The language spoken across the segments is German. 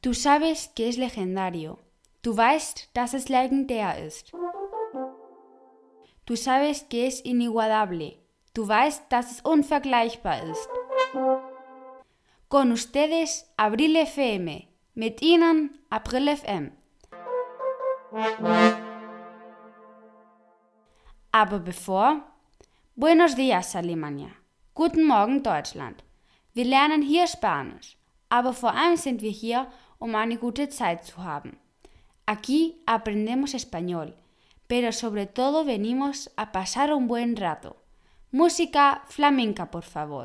Du sabes que es legendario. Du weißt, dass es legendär ist. Du sabes que es inigualable. Du weißt, dass es unvergleichbar ist. Con ustedes, Abril FM. Mit Ihnen, April FM. Aber bevor, Buenos días, Alemania. Guten Morgen, Deutschland. Wir lernen hier Spanisch, aber vor allem sind wir hier, um eine gute Zeit zu haben. Aquí aprendemos español, pero sobre todo venimos a pasar un buen rato. Música flamenca, por favor.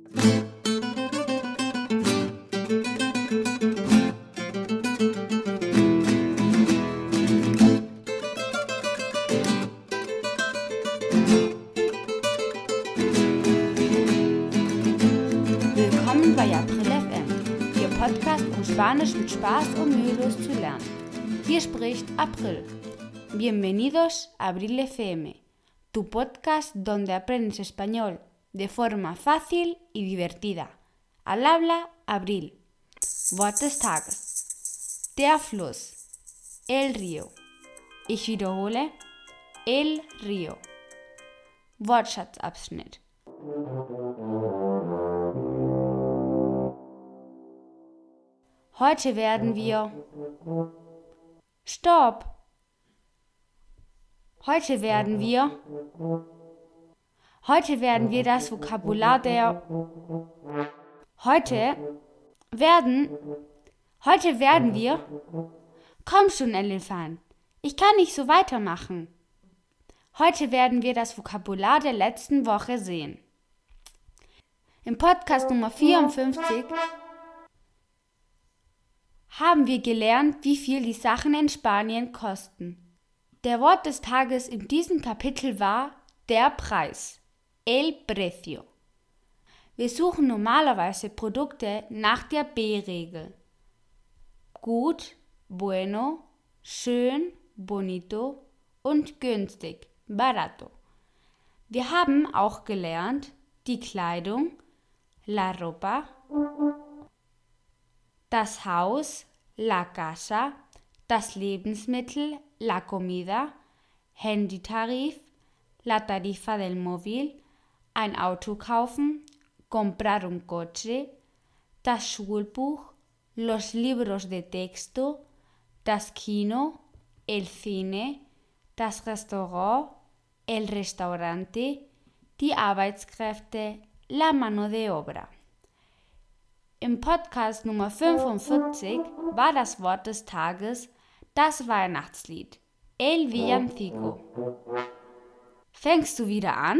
Willkommen bei April FM, Ihr Podcast, um Spanisch mit Spaß und mühelos zu lernen. Hier spricht April. Bienvenidos a Abril FM, tu podcast donde aprendes español de forma fácil y divertida. Al habla Abril. Wort des Tages. Der Fluss. El río. Ich wiederhole. El río. Wortschatzabschnitt. Heute werden wir... Stopp! Heute werden wir das Vokabular der... Heute werden wir... Komm schon, Elefant! Ich kann nicht so weitermachen. Heute werden wir das Vokabular der letzten Woche sehen. Im Podcast Nummer 54 haben wir gelernt, wie viel die Sachen in Spanien kosten. Der Wort des Tages in diesem Kapitel war der Preis, el precio. Wir suchen normalerweise Produkte nach der B-Regel. Gut, bueno, schön, bonito und günstig, barato. Wir haben auch gelernt, die Kleidung, la ropa, das Haus, la casa, das Lebensmittel, la comida, Handytarif, la tarifa del móvil, ein Auto kaufen, comprar un coche, das Schulbuch, los libros de texto, das Kino, el cine, das Restaurant, el restaurante, die Arbeitskräfte, la mano de obra. Im Podcast Nummer 45 war das Wort des Tages das Weihnachtslied, El Villancico. Fängst du wieder an?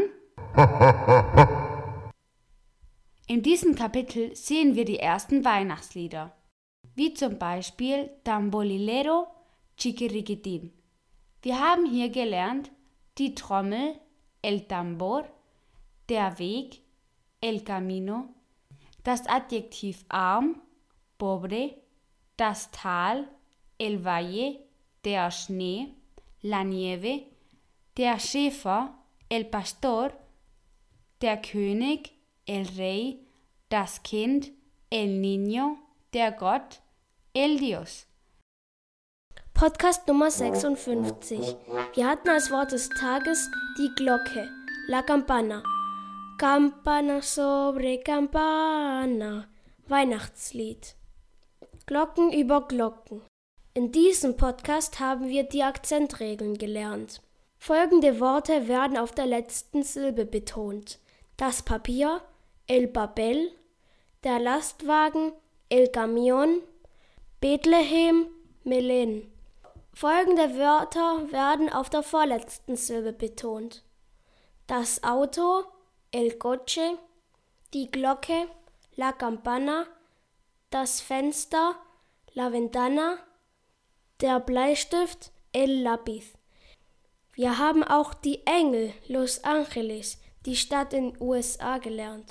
In diesem Kapitel sehen wir die ersten Weihnachtslieder, wie zum Beispiel Tamborilero, Chiquiriquitín. Wir haben hier gelernt, die Trommel, el tambor, der Weg, el camino, das Adjektiv arm, pobre, das Tal, el valle, der Schnee, la nieve, der Schäfer, el pastor, der König, el rey, das Kind, el niño, der Gott, el Dios. Podcast Nummer 56. Wir hatten als Wort des Tages die Glocke, la campana. Campana sobre campana, Weihnachtslied. Glocken über Glocken. In diesem Podcast haben wir die Akzentregeln gelernt. Folgende Worte werden auf der letzten Silbe betont. Das Papier, el papel, der Lastwagen, el camión, Bethlehem, Melén. Folgende Wörter werden auf der vorletzten Silbe betont. Das Auto, el coche, die Glocke, la campana, das Fenster, la ventana, der Bleistift, el lápiz. Wir haben auch die Engel, Los Angeles, die Stadt in den USA gelernt.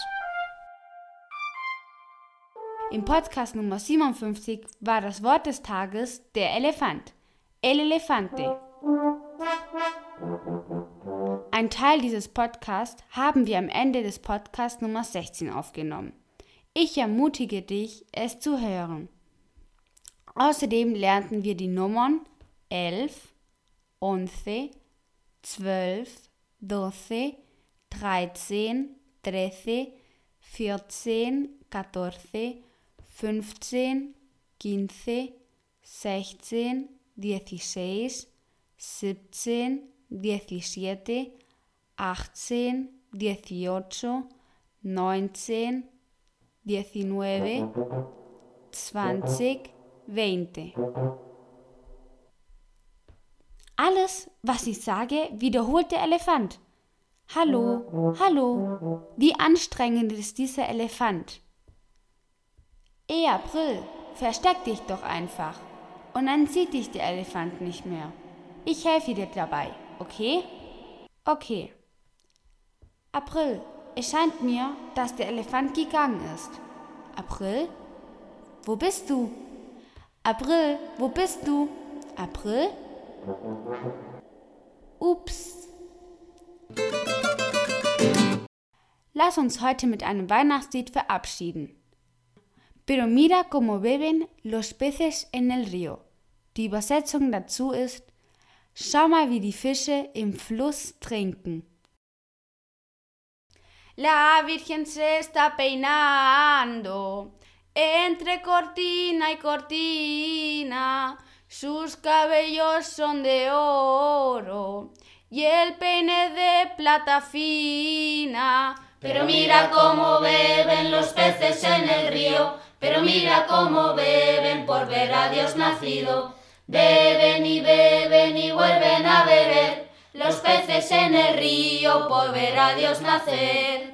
Im Podcast Nummer 57 war das Wort des Tages der Elefant, el elefante. Ein Teil dieses Podcasts haben wir am Ende des Podcasts Nummer 16 aufgenommen. Ich ermutige dich, es zu hören. Außerdem lernten wir die Nummern 11, 11, 12, 12, 13, 13, 14, 14, 15, 15, 16, 16, 17, 17, 18, 18, 19, 19, 20, 20. Alles, was ich sage, wiederholt der Elefant. Hallo, hallo, wie anstrengend ist dieser Elefant? April, versteck dich doch einfach. Und dann sieht dich der Elefant nicht mehr. Ich helfe dir dabei, okay? Okay. April, es scheint mir, dass der Elefant gegangen ist. April? Wo bist du? April, wo bist du? April? Ups. Lass uns heute mit einem Weihnachtslied verabschieden. Pero mira cómo beben los peces en el río. Die Übersetzung dazu ist: Schau mal, wie die Fische im Fluss trinken. La Virgen se está peinando entre cortina y cortina. Sus cabellos son de oro y el peine de plata fina. Pero mira cómo beben los peces en el río, pero mira cómo beben por ver a Dios nacido. Beben y vuelven a beber los peces en el río por ver a Dios nacer.